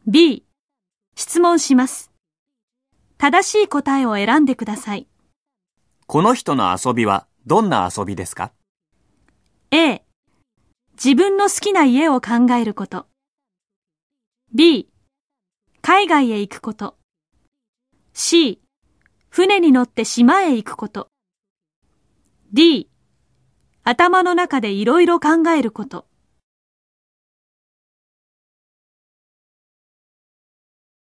B、質問します。正しい答えを選んでください。 この人の遊びはどんな遊びですか？ A、自分の好きな家を考えること。B、海外へ行くこと。C、船に乗って島へ行くこと。D、頭の中でいろいろ考えること。